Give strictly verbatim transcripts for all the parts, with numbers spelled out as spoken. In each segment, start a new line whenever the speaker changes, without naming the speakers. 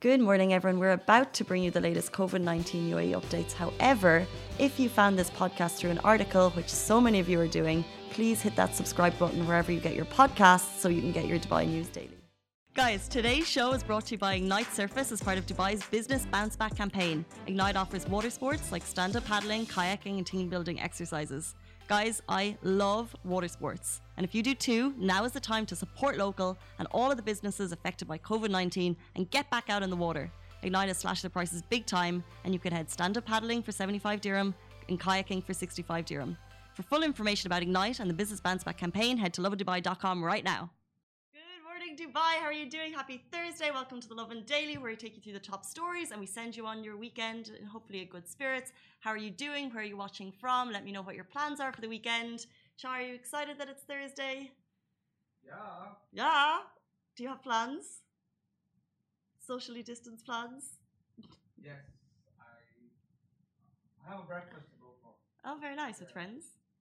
Good morning, everyone. We're about to bring you the latest COVID nineteen U A E updates. However, if you found this podcast through an article, which so many of you are doing, please hit that subscribe button wherever you get your podcasts so you can get your Dubai news daily. Guys, today's show is brought to you by Ignite Surface as part of Dubai's Business Bounce Back campaign. Ignite offers water sports like stand-up paddling, kayaking and team building exercises. Guys, I love water sports. And if you do too, now is the time to support local and all of the businesses affected by COVID nineteen and get back out in the water. Ignite has slashed their prices big time, and you can head stand-up paddling for seventy-five dirham and kayaking for sixty-five dirham. For full information about Ignite and the Business Bounce Back campaign, head to lovin dubai dot com right now. Good morning, Dubai. How are you doing? Happy Thursday. Welcome to the Lovin Daily, where we take you through the top stories and we send you on your weekend in hopefully a good spirits. How are you doing? Where are you watching from? Let me know what your plans are for the weekend. Shah, are you excited that it's Thursday?
Yeah.
Yeah. Do you have plans? Socially distanced plans?
Yes. I, I have a breakfast to go for.
Oh, very nice. With
Yeah.
friends?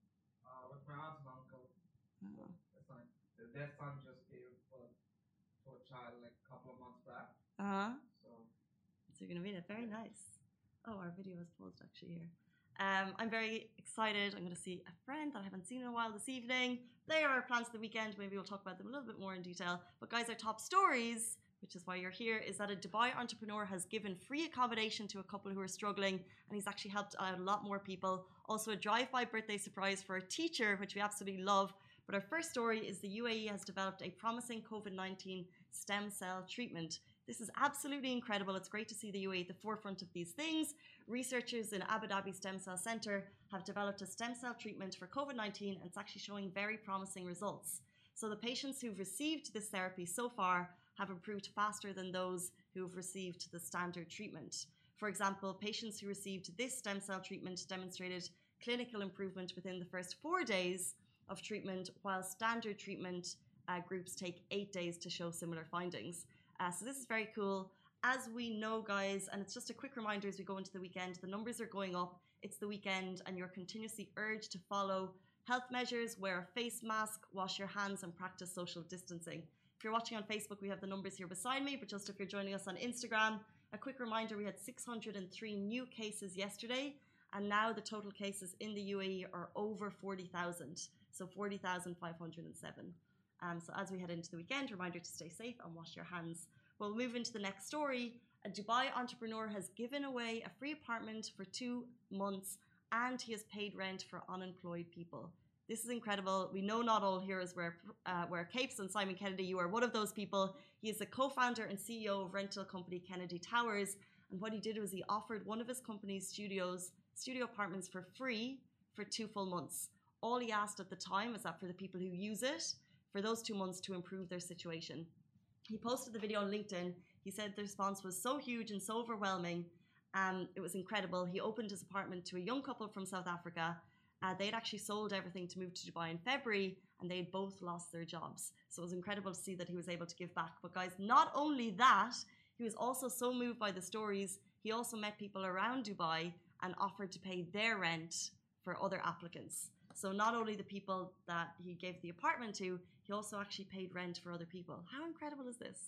Uh, with my aunt and uncle.
Oh.
That's fine. Their son just gave birth to a child like a couple of months back.
Uh-huh.
So.
So you're going to be there. Very nice. Oh, our video is paused actually here. Um, I'm very excited. I'm going to see a friend that I haven't seen in a while this evening. They are our plans for the weekend. Maybe we'll talk about them a little bit more in detail. But guys, our top stories, which is why you're here, is that a Dubai entrepreneur has given free accommodation to a couple who are struggling, and he's actually helped out a lot more people. Also a drive-by birthday surprise for a teacher, which we absolutely love. But our first story is the U A E has developed a promising COVID nineteen stem cell treatment. This is absolutely incredible. It's great to see the U A E at the forefront of these things. Researchers in Abu Dhabi Stem Cell Center have developed a stem cell treatment for COVID nineteen, and it's actually showing very promising results. So the patients who've received this therapy so far have improved faster than those who've received the standard treatment. For example, patients who received this stem cell treatment demonstrated clinical improvement within the first four days of treatment, while standard treatment uh, groups take eight days to show similar findings. Uh, so this is very cool. As we know, guys, and it's just a quick reminder as we go into the weekend, the numbers are going up. It's the weekend and you're continuously urged to follow health measures, wear a face mask, wash your hands and practice social distancing. If you're watching on Facebook, we have the numbers here beside me, but just if you're joining us on Instagram, a quick reminder, we had six hundred three new cases yesterday, and now the total cases in the U A E are over forty thousand, so forty thousand five hundred seven. Um, so as we head into the weekend, reminder to stay safe and wash your hands. We'll move into the next story. A Dubai entrepreneur has given away a free apartment for two months and he has paid rent for unemployed people. This is incredible. We know not all heroes wear, uh, wear capes, and Simon Kennedy, you are one of those people. He is the co-founder and C E O of rental company Kennedy Towers. And what he did was he offered one of his company's studios, studio apartments for free for two full months. All he asked at the time is that for the people who use it, for those two months to improve their situation. He posted the video on LinkedIn. He said the response was so huge and so overwhelming. Um, it was incredible. He opened his apartment to a young couple from South Africa. Uh, they had actually sold everything to move to Dubai in February, and they had both lost their jobs. So it was incredible to see that he was able to give back. But guys, not only that, he was also so moved by the stories. He also met people around Dubai and offered to pay their rent for other applicants. So not only the people that he gave the apartment to, he also actually paid rent for other people. How incredible is this?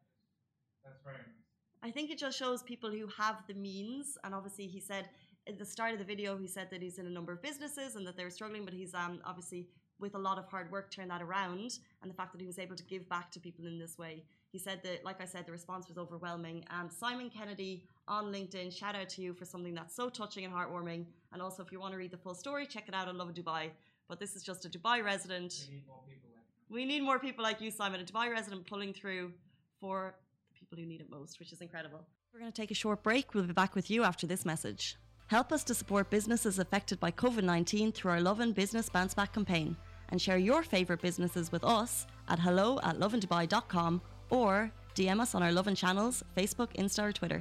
That's very nice.
I think it just shows people who have the means. And obviously he said at the start of the video, he said that he's in a number of businesses and that they're struggling, but he's um, obviously with a lot of hard work turned that around. And the fact that he was able to give back to people in this way. He said that, like I said, the response was overwhelming. Um, Simon Kennedy on LinkedIn, shout out to you for something that's so touching and heartwarming. And also, if you want to read the full story, check it out on Lovin Dubai. But this is just a Dubai resident.
We need more people like that.
We need more people like you, Simon, a Dubai resident pulling through for the people who need it most, which is incredible. We're going to take a short break. We'll be back with you after this message. Help us to support businesses affected by COVID nineteen through our Lovin Business Bounce Back campaign, and share your favourite businesses with us at hello at lovin dubai dot com or D M us on our Lovin channels, Facebook, Insta or Twitter.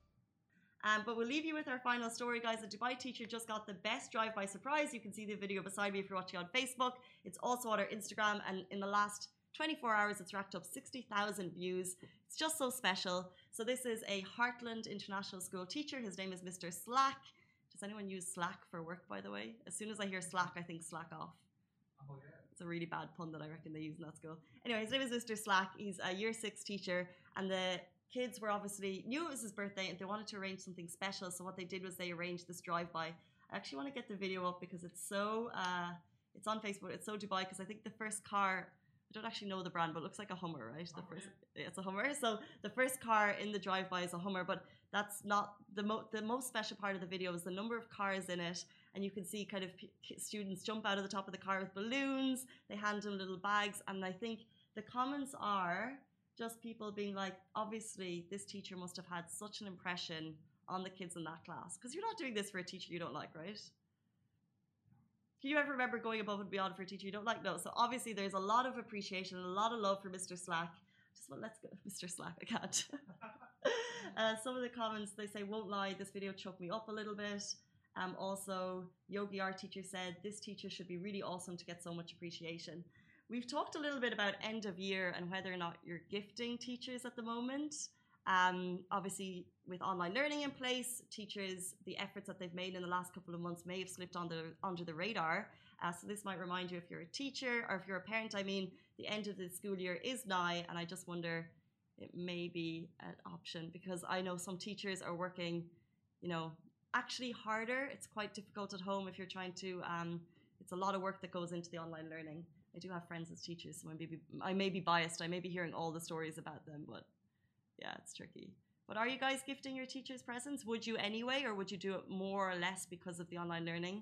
Um, but we'll leave you with our final story, guys. A Dubai teacher just got the best drive-by surprise. You can see the video beside me if you're watching on Facebook. It's also on our Instagram, and in the last twenty-four hours, it's racked up sixty thousand views. It's just so special. So this is a Heartland International School teacher. His name is Mister Slack. Does anyone use Slack for work, by the way? As soon as I hear Slack, I think Slack off.
Oh, yeah.
It's a really bad pun that I reckon they use in that school. Anyway, his name is Mister Slack. He's a year six teacher, and the kids were obviously knew it was his birthday and they wanted to arrange something special. So what they did was they arranged this drive-by. I actually want to get the video up because it's so, uh, it's on Facebook. It's so Dubai because I think the first car, I don't actually know the brand, but it looks like a Hummer, right? The first, it's a Hummer. So the first car in the drive-by is a Hummer, but that's not the mo the most special part of the video is the number of cars in it. And you can see kind of p students jump out of the top of the car with balloons. They hand them little bags. And I think the comments are just people being like, obviously this teacher must have had such an impression on the kids in that class. Because you're not doing this for a teacher you don't like, right? Can you ever remember going above and beyond for a teacher you don't like? No. So obviously there's a lot of appreciation and a lot of love for Mister Slack. Just well, let's go, Mister Slack. I can't. uh, some of the comments they say, won't lie, this video choked me up a little bit. Um, also, Yogi, our teacher, said this teacher should be really awesome to get so much appreciation. We've talked a little bit about end of year and whether or not you're gifting teachers at the moment. Um, obviously, with online learning in place, teachers, the efforts that they've made in the last couple of months may have slipped on the, under the radar. Uh, so this might remind you if you're a teacher or if you're a parent, I mean, the end of the school year is nigh, and I just wonder it may be an option because I know some teachers are working, you know, actually harder. It's quite difficult at home if you're trying to, um, it's a lot of work that goes into the online learning. I do have friends as teachers, so I may be, I may be biased. I may be hearing all the stories about them, but yeah, it's tricky. But are you guys gifting your teachers presents? Would you anyway, or would you do it more or less because of the online learning?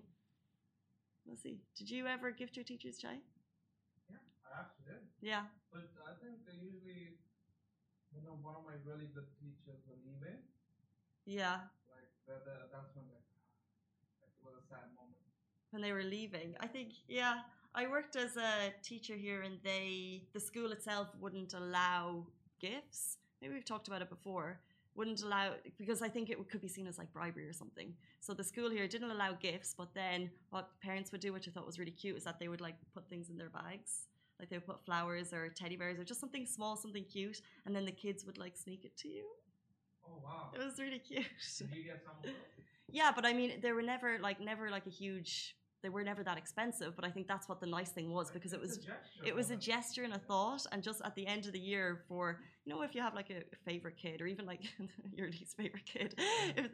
Let's see. Did you ever gift your teachers, Chai?
Yeah, I actually did.
Yeah.
But I think they usually, you know, one of my really good teachers were leaving.
Yeah.
Like, that, that, that's when, like, it was a sad moment.
When they were leaving. I think, yeah. I worked as a teacher here and they, the school itself wouldn't allow gifts. Maybe we've talked about it before. Wouldn't allow, because I think it could be seen as like bribery or something. So the school here didn't allow gifts, but then what parents would do, which I thought was really cute, is that they would like put things in their bags. Like they would put flowers or teddy bears or just something small, something cute. And then the kids would like sneak it to you.
Oh, wow.
It was really cute.
Did you get some of those?
Yeah, but I mean, they were never like, never like a huge, they were never that expensive, but I think that's what the nice thing was because it was it was a gesture and a thought, and just at the end of the year for, you know, if you have like a favorite kid or even like your least favorite kid, if,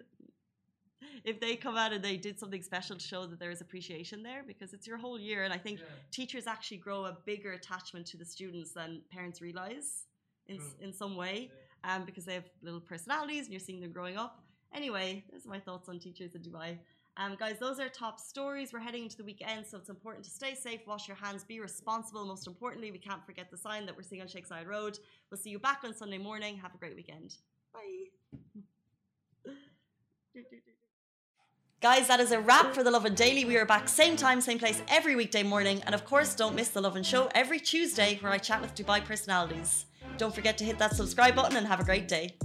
if they come out and they did something special to show that there is appreciation there because it's your whole year, and I think yeah. teachers actually grow a bigger attachment to the students than parents realize in True. in some way, yeah. um, because they have little personalities and you're seeing them growing up. Anyway, there's my thoughts on teachers in Dubai. Um, guys, those are top stories. We're heading into the weekend, so it's important to stay safe, wash your hands, be responsible. Most importantly, we can't forget the sign that we're seeing on Sheikh Zayed Road. We'll see you back on Sunday morning. Have a great weekend. Bye. Guys, that is a wrap for The Lovin Daily. We are back same time, same place every weekday morning. And of course, don't miss The Lovin Show every Tuesday where I chat with Dubai personalities. Don't forget to hit that subscribe button and have a great day.